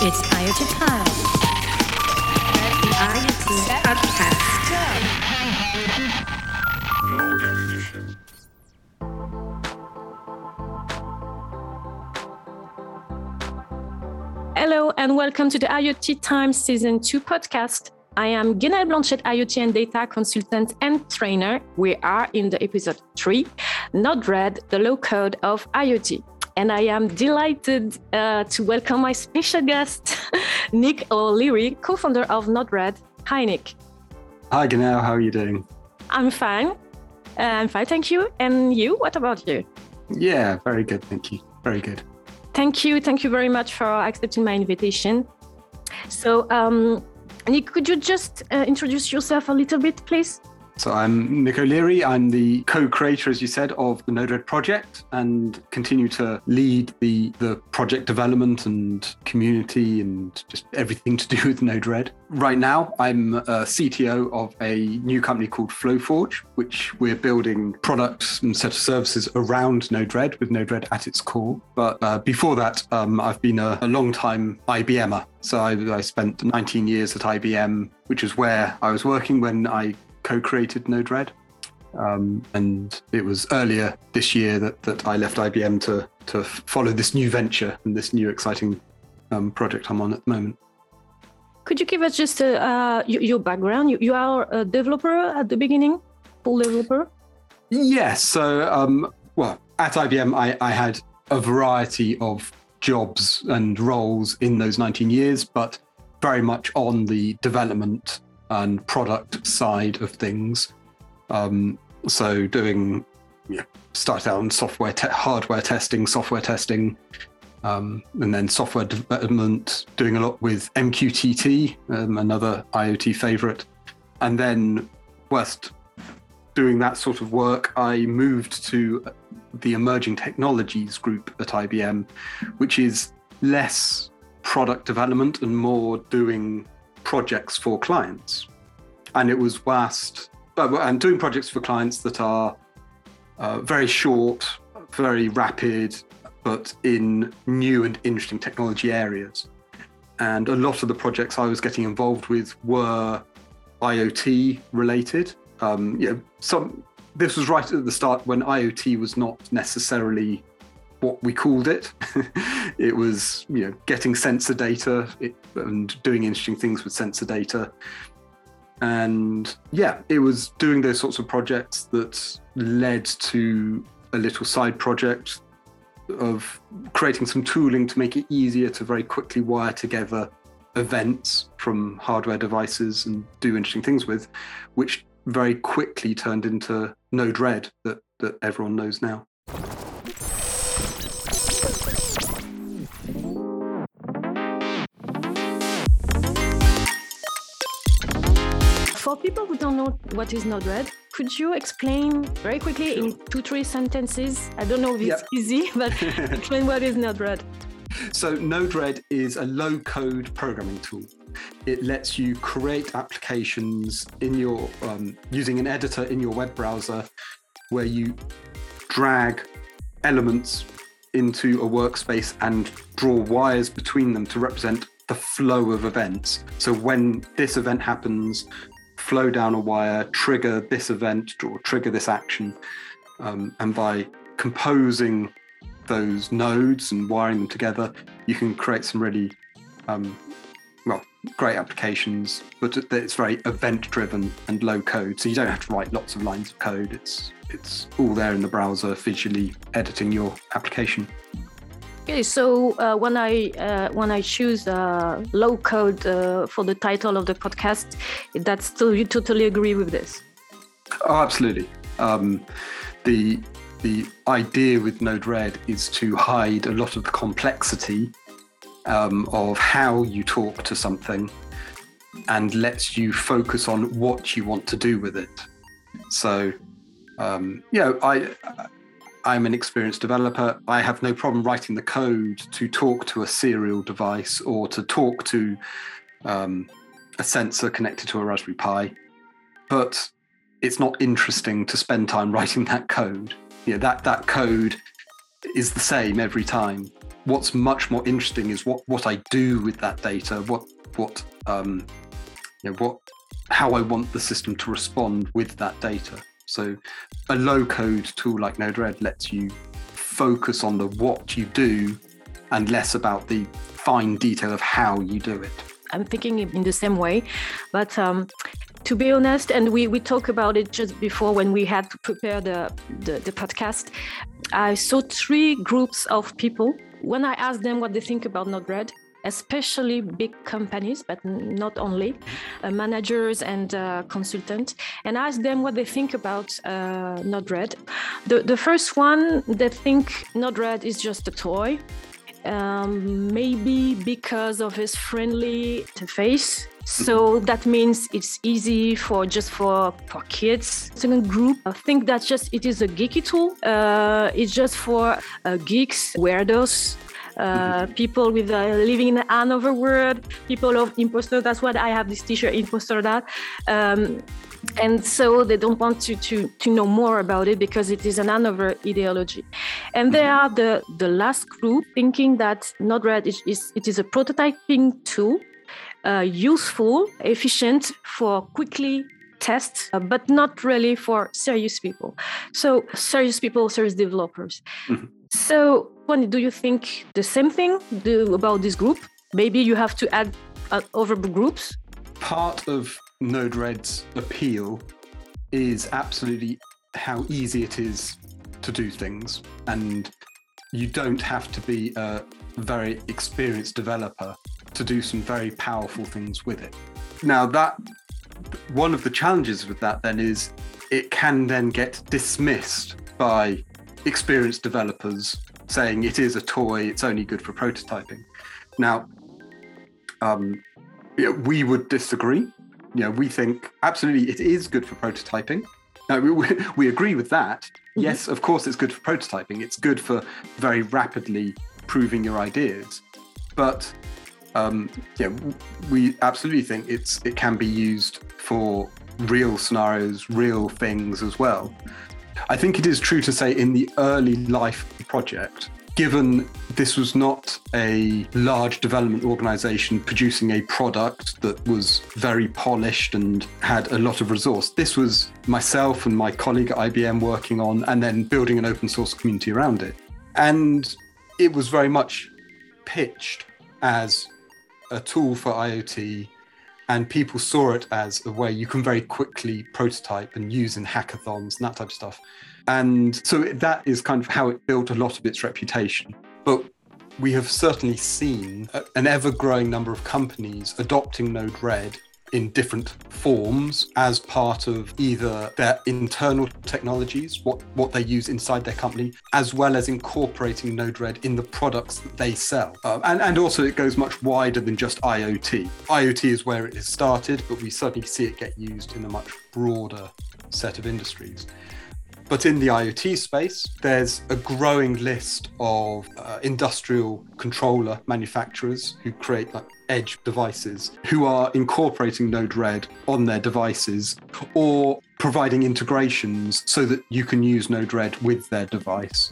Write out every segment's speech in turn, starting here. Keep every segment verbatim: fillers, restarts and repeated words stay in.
It's IoT time. The IoT podcast. Hello and welcome to the IoT Time Season two podcast. I am Guenaëlle Blanchette, IoT and data consultant and trainer. We are in the episode three, Node-RED, the low code of IoT. And I am delighted uh, to welcome my special guest, Nick O'Leary, co-founder of Node-RED. Hi, Nick. Hi, Guenaëlle. How are you doing? I'm fine. Uh, I'm fine, thank you. And you? What about you? Yeah, very good. Thank you. Very good. Thank you. Thank you very much for accepting my invitation. So, um, Nick, could you just uh, introduce yourself a little bit, please? So I'm Nick O'Leary. I'm the co-creator, as you said, of the Node-RED project and continue to lead the, the project development and community and just everything to do with Node-RED. Right now, I'm a C T O of a new company called Flowforge, which we're building products and set of services around Node-RED with Node-RED at its core. But uh, before that, um, I've been a, a long-time I B M er. So I, I spent nineteen years at I B M, which is where I was working when I co-created Node-RED. Um, and it was earlier this year that, that I left I B M to, to follow this new venture and this new exciting um, project I'm on at the moment. Could you give us just uh, uh, your, your background? You, you are a developer at the beginning, full developer? Yes. So, um, well, at I B M, I, I had a variety of jobs and roles in those nineteen years, but very much on the development and product side of things. Um, so doing, yeah, started out on software, te- hardware testing, software testing, um, and then software development, doing a lot with M Q T T, um, another IoT favorite. And then whilst doing that sort of work, I moved to the Emerging Technologies group at I B M, which is less product development and more doing projects for clients. And it was vast, and doing projects for clients that are uh, very short, very rapid, but in new and interesting technology areas. And a lot of the projects I was getting involved with were IoT related. Um, you know, some, this was right at the start when IoT was not necessarily what we called it. It was, you know, getting sensor data it, and doing interesting things with sensor data. And yeah, it was doing those sorts of projects that led to a little side project of creating some tooling to make it easier to very quickly wire together events from hardware devices and do interesting things with, which very quickly turned into Node-RED that, that everyone knows now. For people who don't know what is Node-RED, could you explain very quickly Sure. in two, three sentences? I don't know if it's Yep. easy, but explain what is Node-RED. So Node-RED is a low-code programming tool. It lets you create applications in your um, using an editor in your web browser, where you drag elements into a workspace and draw wires between them to represent the flow of events. So when this event happens, flow down a wire, trigger this event, or trigger this action. Um, and by composing those nodes and wiring them together, you can create some really, um, well, great applications, but it's very event-driven and low code. So you don't have to write lots of lines of code. It's it's all there in the browser, visually editing your application. Okay, so uh, when I uh, when I choose uh, low code uh, for the title of the podcast, that's still you totally agree with this? Oh, absolutely. Um, the the idea with Node-RED is to hide a lot of the complexity um, of how you talk to something, and lets you focus on what you want to do with it. So, um, you know, I. I'm an experienced developer. I have no problem writing the code to talk to a serial device or to talk to um, a sensor connected to a Raspberry Pi, but it's not interesting to spend time writing that code. You know, that that code is the same every time. What's much more interesting is what, what I do with that data, what what um, you know, what how I want the system to respond with that data. So a low-code tool like Node-RED lets you focus on the what you do and less about the fine detail of how you do it. I'm thinking in the same way, but um, to be honest, and we, we talked about it just before when we had to prepare the, the, the podcast, I saw three groups of people. When I asked them what they think about Node-RED, especially big companies, but not only, uh, managers and uh, consultants, and asked them what they think about uh, Node-RED. The, the first one, they think Node-RED is just a toy, um, maybe because of its friendly interface. So that means it's easy for just for, for kids. Second group, I think that just it is a geeky tool. Uh, it's just for uh, geeks, weirdos, uh, mm-hmm. people with uh, living in another world, people of imposter. That's what I have this T-shirt, imposter that. Um, and so they don't want to, to, to know more about it because it is another ideology. And there are the, the last group thinking that Node-RED is, is it is a prototyping tool. Uh, useful, efficient for quickly tests, uh, but not really for serious people. So serious people, serious developers. Mm-hmm. So, Juan, do you think the same thing do about this group? Maybe you have to add uh, other groups? Part of Node-RED's appeal is absolutely how easy it is to do things. And you don't have to be a very experienced developer to do some very powerful things with it. Now, that one of the challenges with that then is it can then get dismissed by experienced developers saying it is a toy, it's only good for prototyping. Now, um, you know, we would disagree. You know, we think absolutely it is good for prototyping. Now, we, we agree with that. Mm-hmm. Yes, of course, it's good for prototyping. It's good for very rapidly proving your ideas. But Um, yeah, we absolutely think it's it can be used for real scenarios, real things as well. I think it is true to say in the early life of the project, given this was not a large development organization producing a product that was very polished and had a lot of resource, this was myself and my colleague at I B M working on and then building an open source community around it. And it was very much pitched as a tool for IoT, and people saw it as a way you can very quickly prototype and use in hackathons and that type of stuff. And so that is kind of how it built a lot of its reputation. But we have certainly seen an ever-growing number of companies adopting Node-RED in different forms as part of either their internal technologies, what, what they use inside their company, as well as incorporating Node-RED in the products that they sell. Um, and, and also it goes much wider than just IoT. IoT is where it has started, but we certainly see it get used in a much broader set of industries. But in the IoT space, there's a growing list of uh, industrial controller manufacturers who create like edge devices, who are incorporating Node-RED on their devices or providing integrations so that you can use Node-RED with their device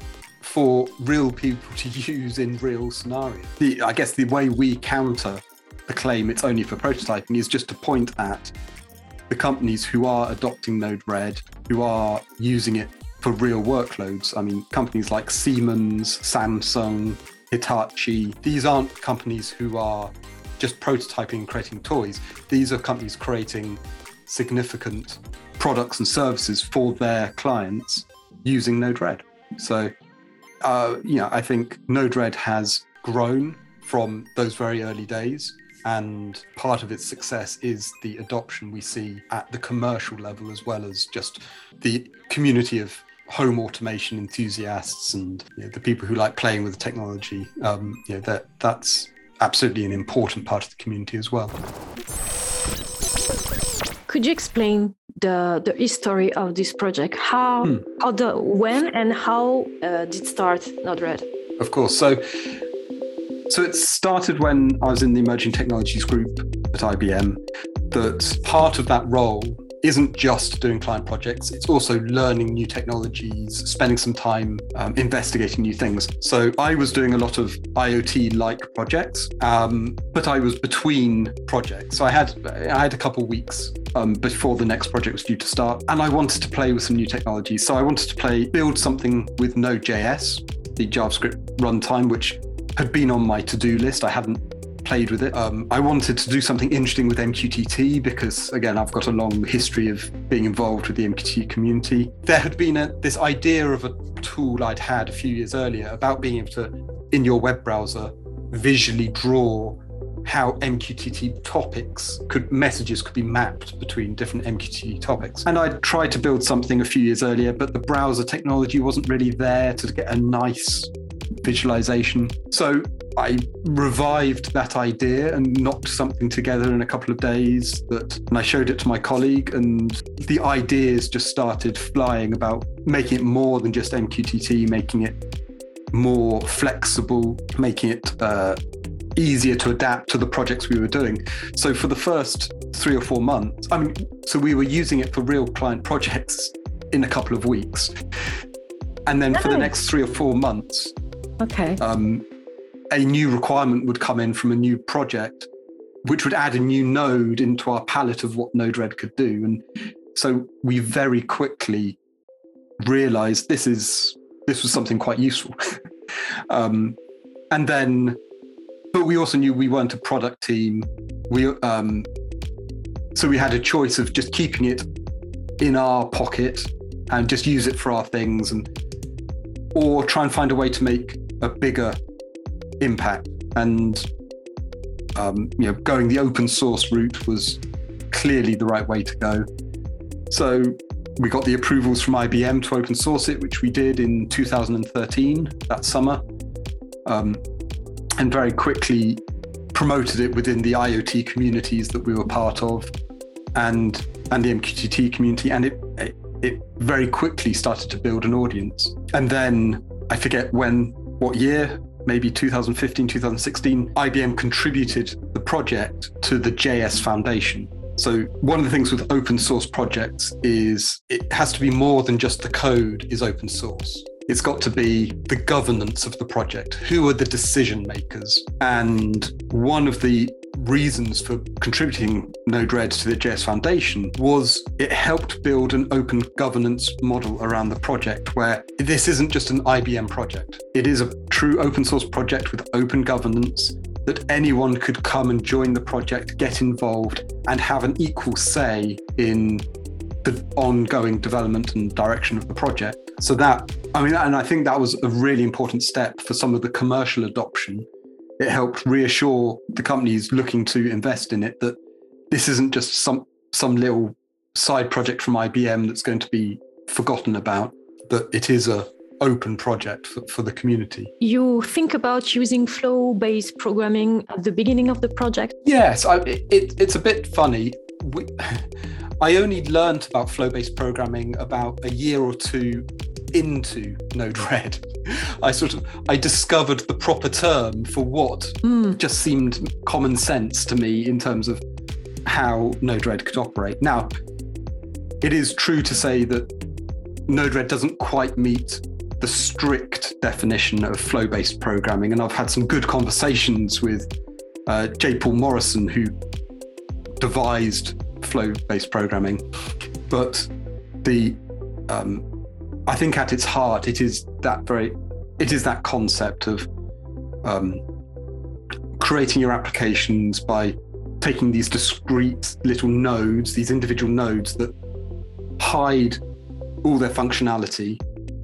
for real people to use in real scenarios. The, I guess the way we counter the claim it's only for prototyping is just to point at the companies who are adopting Node-RED, who are using it for real workloads. I mean, companies like Siemens, Samsung, Hitachi, these aren't companies who are just prototyping and creating toys. These are companies creating significant products and services for their clients using Node-RED. So, uh, you know, I think Node-RED has grown from those very early days. And part of its success is the adoption we see at the commercial level, as well as just the community of home automation enthusiasts and you know, the people who like playing with the technology. Um, you know, that that's absolutely an important part of the community as well. Could you explain the the history of this project? How, hmm. how the when and how uh, did it start Node-RED? Of course. So. So it started when I was in the Emerging Technologies group at I B M, that part of that role isn't just doing client projects, it's also learning new technologies, spending some time um, investigating new things. So I was doing a lot of IoT-like projects, um, but I was between projects. So I had I had a couple weeks um, before the next project was due to start, and I wanted to play with some new technologies. So I wanted to play, build something with Node.js, the JavaScript runtime, which had been on my to-do list. I hadn't played with it. Um, I wanted to do something interesting with M Q T T because, again, I've got a long history of being involved with the M Q T T community. There had been a, this idea of a tool I'd had a few years earlier about being able to, in your web browser, visually draw how M Q T T topics could, messages could be mapped between different M Q T T topics. And I tried to build something a few years earlier, but the browser technology wasn't really there to get a nice visualization. So I revived that idea and knocked something together in a couple of days that, and I showed it to my colleague, and the ideas just started flying about making it more than just M Q T T, making it more flexible, making it uh, easier to adapt to the projects we were doing. So for the first three or four months, I mean, so we were using it for real client projects in a couple of weeks. And then nice. For the next three or four months, okay. Um, a new requirement would come in from a new project, which would add a new node into our palette of what Node-RED could do. And so we very quickly realized this is this was something quite useful. um, and then, but we also knew we weren't a product team. We um, so we had a choice of just keeping it in our pocket and just use it for our things, and or try and find a way to make a bigger impact. And um, you know, going the open source route was clearly the right way to go. So we got the approvals from I B M to open source it, which we did in two thousand thirteen, that summer, um, and very quickly promoted it within the IoT communities that we were part of, and and the M Q T T community, and it, it it very quickly started to build an audience. And then I forget when, what year, maybe two thousand fifteen, two thousand sixteen, I B M contributed the project to the J S Foundation. So one of the things with open source projects is it has to be more than just the code is open source. It's got to be the governance of the project. Who are the decision makers? And one of the reasons for contributing Node-RED to the J S Foundation was it helped build an open governance model around the project, where this isn't just an I B M project. It is a true open source project with open governance, that anyone could come and join the project, get involved, and have an equal say in the ongoing development and direction of the project. So that, I mean, and I think that was a really important step for some of the commercial adoption. It helped reassure the companies looking to invest in it that this isn't just some some little side project from I B M that's going to be forgotten about, that it is a open project for, for the community. You think about using flow-based programming at the beginning of the project? Yes, I, it, it's a bit funny. We, I only learned about flow-based programming about a year or two into Node-RED. I sort of, I discovered the proper term for what mm. just seemed common sense to me in terms of how Node-RED could operate. Now, it is true to say that Node-RED doesn't quite meet the strict definition of flow-based programming, and I've had some good conversations with uh, J. Paul Morrison, who devised flow-based programming. But the, um, I think at its heart, it is that very, it is that concept of um, creating your applications by taking these discrete little nodes, these individual nodes that hide all their functionality,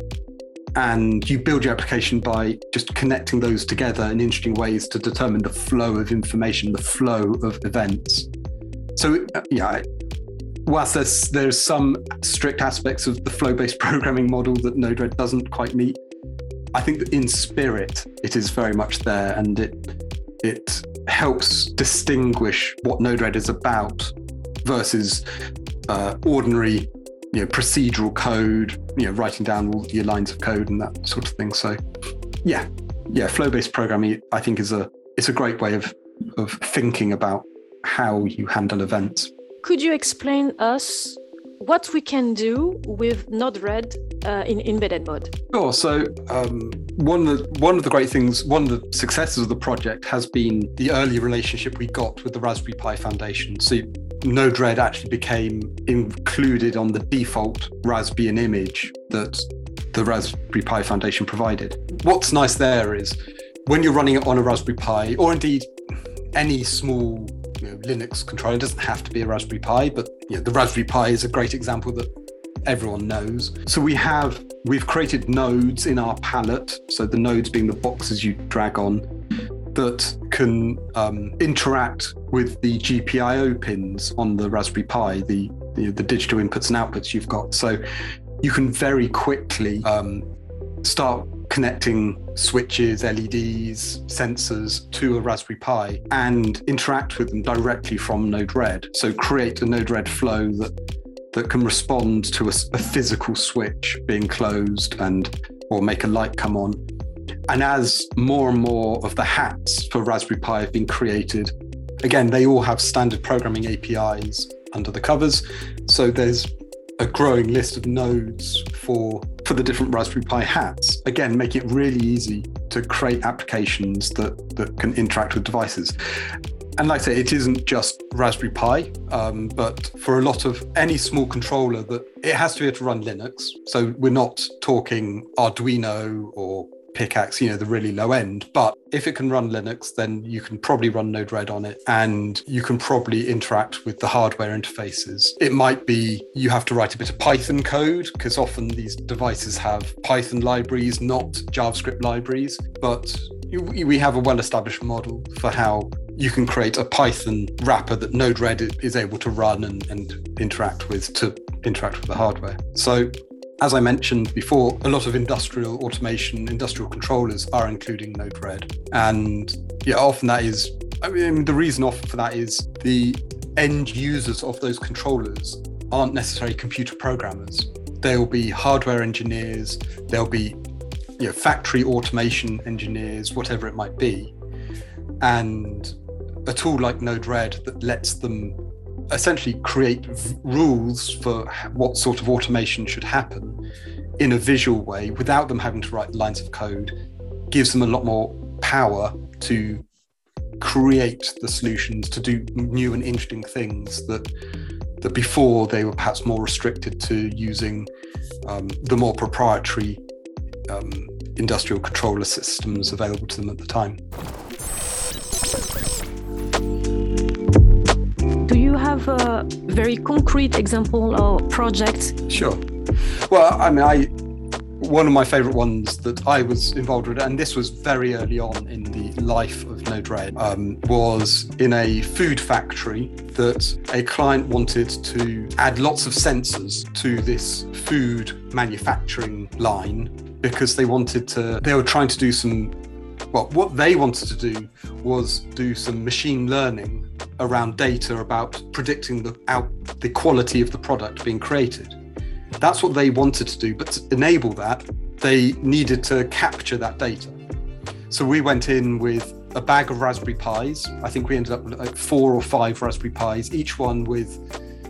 and you build your application by just connecting those together in interesting ways to determine the flow of information, the flow of events. So, yeah, whilst there's there's some strict aspects of the flow-based programming model that Node-RED doesn't quite meet, I think that in spirit it is very much there, and it it helps distinguish what Node-RED is about versus uh, ordinary, you know, procedural code, you know, writing down all your lines of code and that sort of thing. So, yeah, yeah, flow-based programming, I think, is a it's a great way of of thinking about how you handle events. Could you explain us what we can do with Node-RED uh, in embedded mode. Sure. So um, one of the one of the great things, one of the successes of the project has been the early relationship we got with the Raspberry Pi Foundation. So Node-RED actually became included on the default Raspbian image that the Raspberry Pi Foundation provided. What's nice there is when you're running it on a Raspberry Pi, or indeed any small you know, Linux controller, it doesn't have to be a Raspberry Pi, but you know, the Raspberry Pi is a great example that everyone knows. So we have, we've created nodes in our palette, so the nodes being the boxes you drag on, that can um, interact with the G P I O pins on the Raspberry Pi, the, the, the digital inputs and outputs you've got. So you can very quickly um, start connecting switches, L E Ds, sensors to a Raspberry Pi and interact with them directly from Node-RED. So create a Node-RED flow that that can respond to a, a physical switch being closed and or make a light come on. And as more and more of the hats for Raspberry Pi have been created, again, they all have standard programming A P Is under the covers. So there's a growing list of nodes for, for the different Raspberry Pi hats. Again, make it really easy to create applications that, that can interact with devices. And like I say, it isn't just Raspberry Pi, um, but for a lot of any small controller, that it has to be able to run Linux. So we're not talking Arduino or Pickaxe, you know, the really low end. But if it can run Linux, then you can probably run Node-RED on it, and you can probably interact with the hardware interfaces. It might be you have to write a bit of Python code, because often these devices have Python libraries, not JavaScript libraries. But we have a well-established model for how you can create a Python wrapper that Node-RED is able to run and, and interact with to interact with the hardware. So as I mentioned before, a lot of industrial automation, industrial controllers are including Node-RED. And yeah, often that is, I mean, the reason often for that is the end users of those controllers aren't necessarily computer programmers. They'll be hardware engineers, they'll be you know, factory automation engineers, whatever it might be. And a tool like Node-RED that lets them essentially create v- rules for what sort of automation should happen in a visual way without them having to write lines of code gives them a lot more power to create the solutions, to do new and interesting things that that before they were perhaps more restricted to using um, the more proprietary um, industrial controller systems available to them at the time. Do you have a very concrete example or project? Sure. Well, I mean, I one of my favorite ones that I was involved with, and this was very early on in the life of Node-RED, um, was in a food factory that a client wanted to add lots of sensors to this food manufacturing line because they wanted to, they were trying to do some, well, what they wanted to do was do some machine learning around data about predicting the out the quality of the product being created. That's what they wanted to do, but to enable that, they needed to capture that data. So we went in with a bag of Raspberry Pis. I think we ended up with like four or five Raspberry Pis, each one with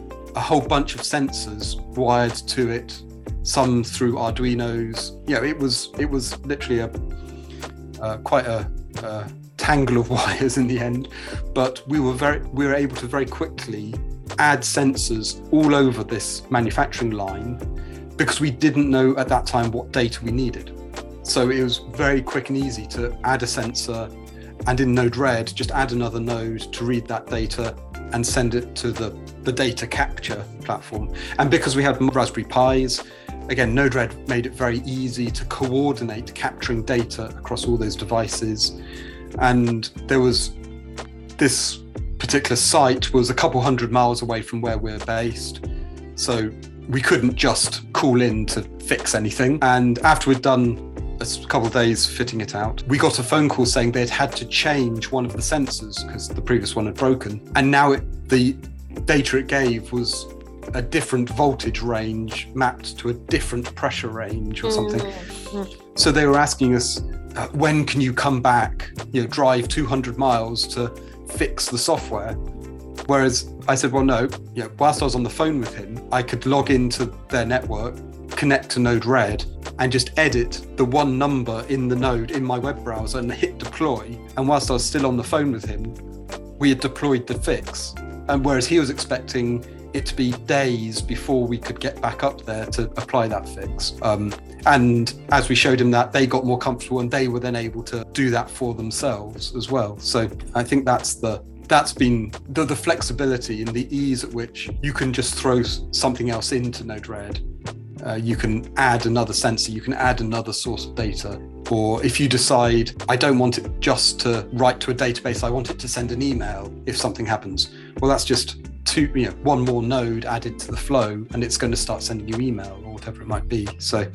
a whole bunch of sensors wired to it, some through Arduinos. You know, it was it was literally a uh, quite a, a tangle of wires in the end, but we were very we were able to very quickly add sensors all over this manufacturing line because we didn't know at that time what data we needed. So it was very quick and easy to add a sensor, and in Node-RED just add another node to read that data and send it to the, the data capture platform. And because we had Raspberry Pis, again, Node-RED made it very easy to coordinate capturing data across all those devices. And there was this particular site was a couple hundred miles away from where we're based. So we couldn't just call in to fix anything. And after we'd done a couple of days fitting it out, we got a phone call saying they'd had to change one of the sensors because the previous one had broken. And now it, the data it gave was a different voltage range mapped to a different pressure range or something. Mm-hmm. So they were asking us, uh, when can you come back, you know, drive two hundred miles to fix the software? Whereas I said, well, no, you know, whilst I was on the phone with him, I could log into their network, connect to Node-RED, and just edit the one number in the node in my web browser and hit deploy. And whilst I was still on the phone with him, we had deployed the fix. And whereas he was expecting it to be days before we could get back up there to apply that fix. Um, and as we showed him that, they got more comfortable and they were then able to do that for themselves as well. So I think that's the that's been the, the flexibility and the ease at which you can just throw something else into Node-RED. Uh, you can add another sensor, you can add another source of data. Or if you decide, I don't want it just to write to a database, I want it to send an email if something happens. Well, that's just two, you know, one more node added to the flow, and it's going to start sending you email or whatever it might be. So,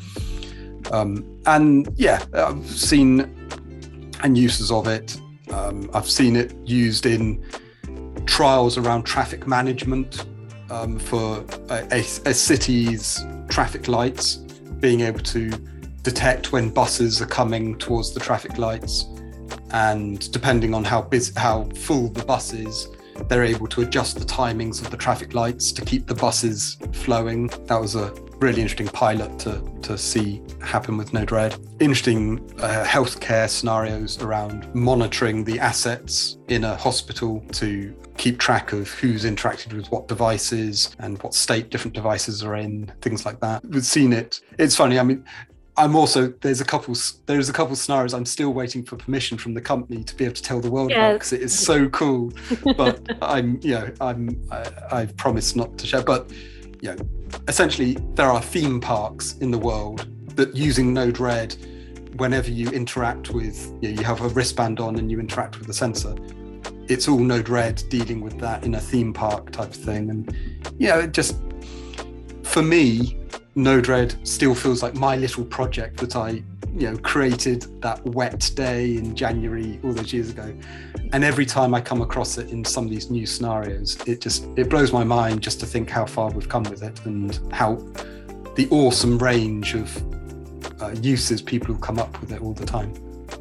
um, and yeah, I've seen and uses of it. Um, I've seen it used in trials around traffic management um, for a, a, a city's traffic lights, being able to detect when buses are coming towards the traffic lights, and depending on how busy, how full the bus is, they're able to adjust the timings of the traffic lights to keep the buses flowing. That was a really interesting pilot to, to see happen with Node-RED. Interesting uh, healthcare scenarios around monitoring the assets in a hospital to keep track of who's interacted with what devices and what state different devices are in, things like that. We've seen it. It's funny. I mean, I'm also, there's a couple, there's a couple scenarios I'm still waiting for permission from the company to be able to tell the world yes. about, because it is so cool. But I'm, you know, I'm, I, I've promised not to share. But, you know, essentially there are theme parks in the world that using Node-RED, whenever you interact with, you know, you have a wristband on and you interact with the sensor, it's all Node-RED dealing with that in a theme park type of thing. And, you know, it just, for me, Node-RED still feels like my little project that I, you know, created that wet day in January all those years ago. And every time I come across it in some of these new scenarios, it just, it blows my mind just to think how far we've come with it and how the awesome range of uh, uses people come up with it all the time.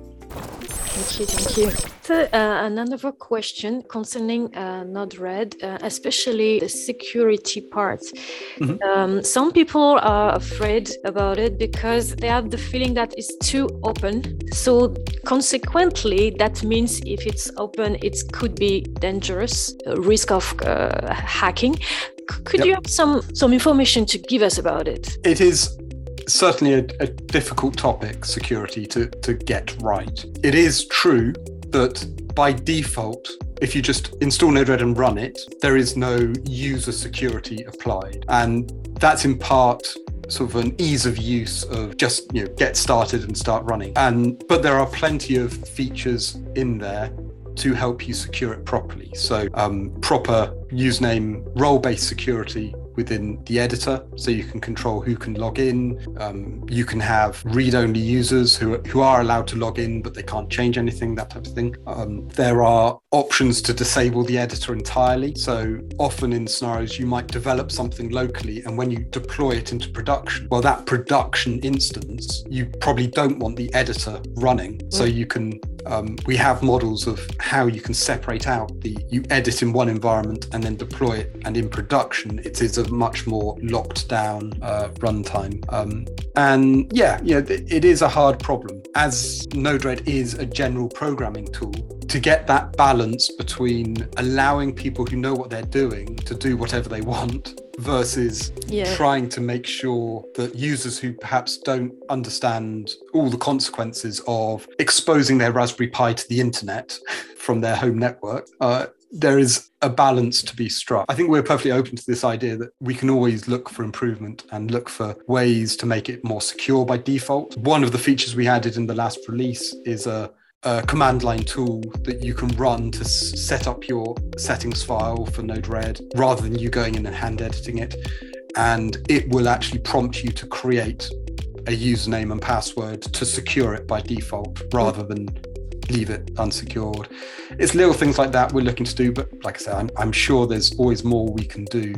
Thank you, thank you. So, uh, another question concerning uh, Node-RED, uh, especially the security part. Mm-hmm. Um, some people are afraid about it because they have the feeling that it's too open. So consequently, that means if it's open, it could be dangerous, uh, risk of uh, hacking. C- could yep. you have some, some information to give us about it? It is certainly a, a difficult topic, security, to, to get right. It is true that by default, if you just install Node-RED and run it, there is no user security applied. And that's in part sort of an ease of use of just, you know, get started and start running. And but there are plenty of features in there to help you secure it properly. So um, proper username role-based security within the editor, so you can control who can log in. Um, you can have read-only users who, who are allowed to log in, but they can't change anything, that type of thing. Um, there are options to disable the editor entirely. So often in scenarios, you might develop something locally, and when you deploy it into production, well, that production instance, you probably don't want the editor running. Mm. So you can, um, we have models of how you can separate out the, you edit in one environment and then deploy it, and in production, it is a much more locked down uh, runtime. Um, and yeah, yeah, it is a hard problem. As Node-RED is a general programming tool, to get that balance between allowing people who know what they're doing to do whatever they want versus yeah. trying to make sure that users who perhaps don't understand all the consequences of exposing their Raspberry Pi to the internet from their home network, uh, there is a balance to be struck. I think we're perfectly open to this idea that we can always look for improvement and look for ways to make it more secure by default. One of the features we added in the last release is a, a command line tool that you can run to s- set up your settings file for Node-RED rather than you going in and hand editing it. And it will actually prompt you to create a username and password to secure it by default rather than leave it unsecured. It's little things like that we're looking to do, but like I said, I'm, I'm sure there's always more we can do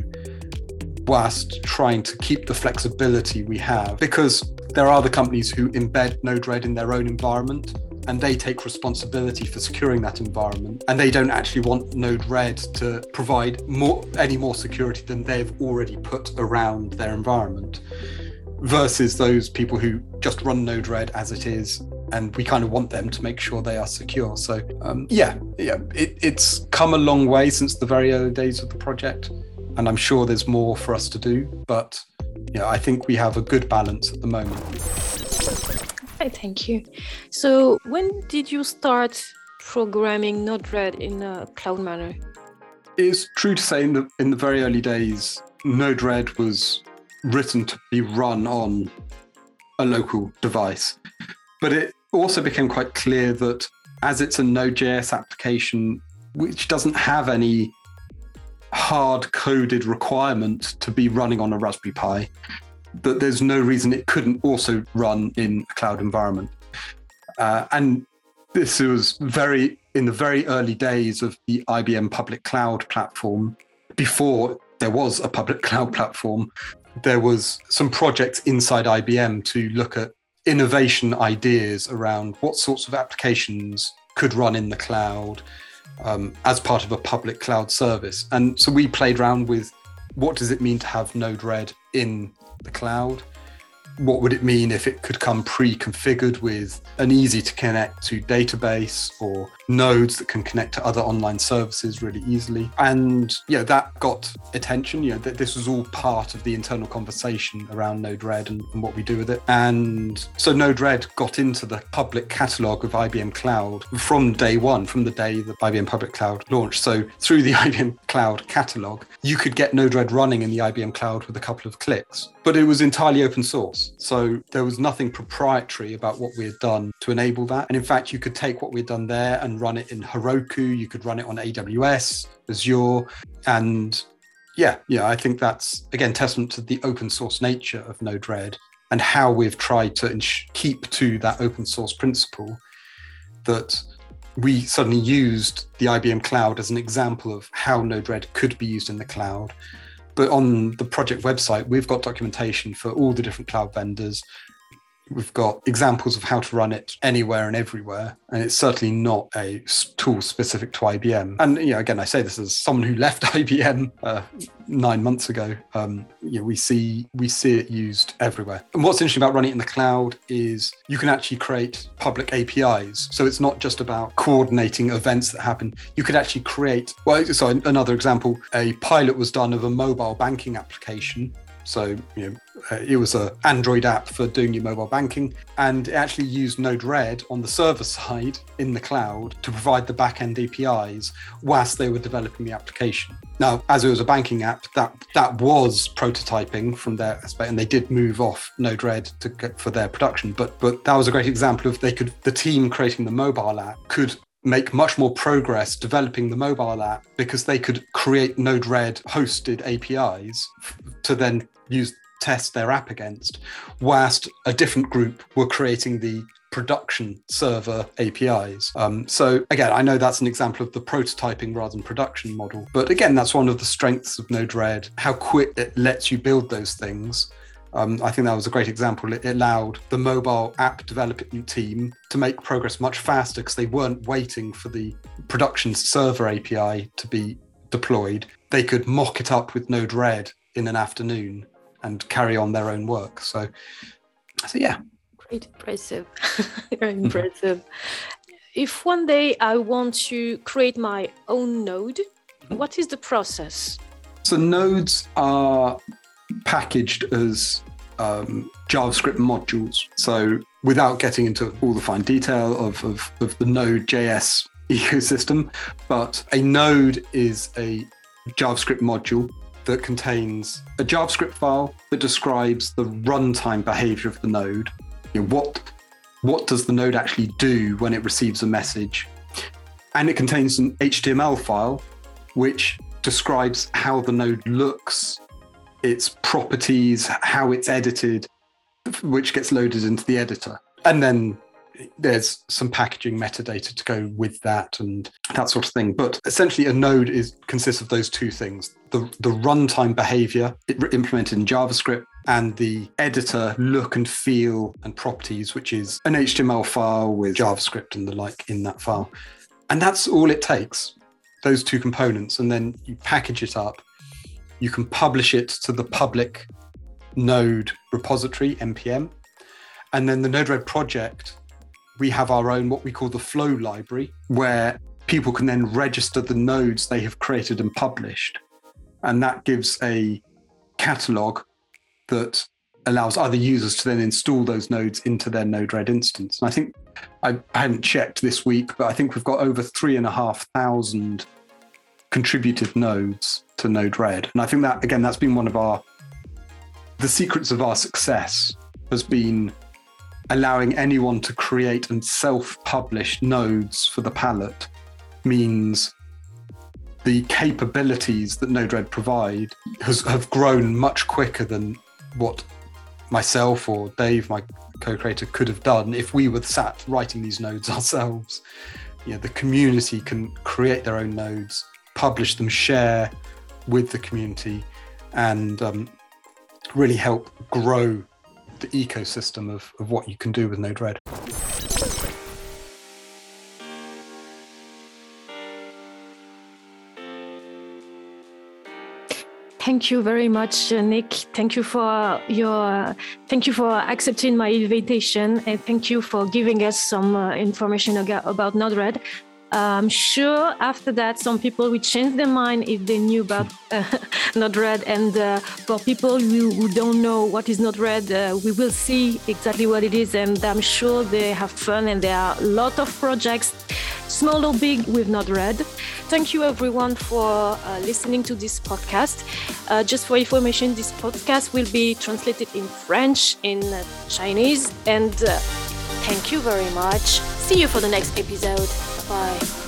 whilst trying to keep the flexibility we have, because there are the companies who embed Node-RED in their own environment. and they take responsibility for securing that environment. And they don't actually want Node-RED to provide more, any more security than they've already put around their environment, versus those people who just run Node-RED as it is, and we kind of want them to make sure they are secure. So um, yeah, yeah, it, it's come a long way since the very early days of the project, and I'm sure there's more for us to do, but yeah, I think we have a good balance at the moment. Okay, thank you. So when did you start programming Node-RED in a cloud manner? It's true to say in the in the very early days, Node-RED was written to be run on a local device. But it also became quite clear that as it's a Node.js application, which doesn't have any hard-coded requirement to be running on a Raspberry Pi, that there's no reason it couldn't also run in a cloud environment. Uh, and this was very in the very early days of the I B M public cloud platform. Before there was a public cloud platform, there was some projects inside I B M to look at innovation ideas around what sorts of applications could run in the cloud um, as part of a public cloud service. And so we played around with what does it mean to have Node-RED in the cloud? What would it mean if it could come pre-configured with an easy to connect to database or nodes that can connect to other online services really easily? And yeah, that got attention. You know, that this was all part of the internal conversation around Node-RED and, and what we do with it. And so Node-RED got into the public catalog of I B M Cloud from day one, from the day that I B M Public Cloud launched. So through the I B M Cloud catalog, you could get Node-RED running in the I B M Cloud with a couple of clicks. But it was entirely open source. So there was nothing proprietary about what we had done to enable that. And in fact, you could take what we'd done there and run it in Heroku. You could run it on A W S, Azure. And yeah, yeah, I think that's, again, testament to the open source nature of Node-RED and how we've tried to ins- keep to that open source principle, that we suddenly used the I B M Cloud as an example of how Node-RED could be used in the cloud. But on the project website, we've got documentation for all the different cloud vendors. We've got examples of how to run it anywhere and everywhere. And it's certainly not a tool specific to I B M. And you know, again, I say this as someone who left I B M uh, nine months ago. Um, you know, we see we see it used everywhere. And what's interesting about running it in the cloud is you can actually create public A P Is. So it's not just about coordinating events that happen. You could actually create, well, so another example, a pilot was done of a mobile banking application. So, you know, uh, it was an Android app for doing your mobile banking, and it actually used Node-RED on the server side in the cloud to provide the back-end A P Is whilst they were developing the application. Now, as it was a banking app, that that was prototyping from their aspect, and they did move off Node-RED to get, for their production. But but that was a great example of they could the team creating the mobile app could make much more progress developing the mobile app because they could create Node-RED hosted A P Is f- to then use test their app against, whilst a different group were creating the production server A P Is. Um, so again, I know that's an example of the prototyping rather than production model, but again, that's one of the strengths of Node-RED, how quick it lets you build those things. Um, I think that was a great example. It allowed the mobile app development team to make progress much faster because they weren't waiting for the production server A P I to be deployed. They could mock it up with Node-RED in an afternoon and carry on their own work. So, so yeah. Great, impressive. Very impressive. If one day I want to create my own node, what is the process? So nodes are packaged as um, JavaScript modules. So without getting into all the fine detail of, of, of the Node.js ecosystem, but a node is a JavaScript module that contains a JavaScript file that describes the runtime behavior of the node. You know, what, what does the node actually do when it receives a message? And it contains an H T M L file which describes how the node looks, its properties, how it's edited, which gets loaded into the editor. And then there's some packaging metadata to go with that and that sort of thing. But essentially a node is consists of those two things. The, the runtime behavior it, implemented in JavaScript and the editor look and feel and properties, which is an H T M L file with JavaScript and the like in that file. And that's all it takes, those two components. And then you package it up. You can publish it to the public Node repository, N P M. And then the Node-RED project, we have our own, what we call the flow library, where people can then register the nodes they have created and published. And that gives a catalog that allows other users to then install those nodes into their Node-RED instance. And I think, I, I haven't checked this week, but I think we've got over three and a half thousand contributed nodes to Node-RED. And I think that, again, that's been one of our, the secrets of our success has been allowing anyone to create and self-publish nodes for the palette means the capabilities that Node-RED provide has, have grown much quicker than what myself or Dave, my co-creator, could have done if we were sat writing these nodes ourselves. You know, the community can create their own nodes, publish them, share with the community, and um, really help grow the ecosystem of, of what you can do with Node-RED. Thank you very much, Nick. Thank you for your, thank you for accepting my invitation, and thank you for giving us some uh, information about Node-RED. I'm sure after that, some people will change their mind if they knew about uh, Node-RED. And uh, for people who, who don't know what is Node-RED, uh, we will see exactly what it is. And I'm sure they have fun, and there are a lot of projects, small or big, with Node-RED. Thank you, everyone, for uh, listening to this podcast. Uh, just for information, this podcast will be translated in French, in uh, Chinese. And uh, thank you very much. See you for the next episode. Bye.